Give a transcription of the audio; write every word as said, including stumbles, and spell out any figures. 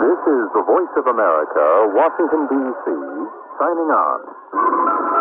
This is the Voice of America, Washington, D C, signing on.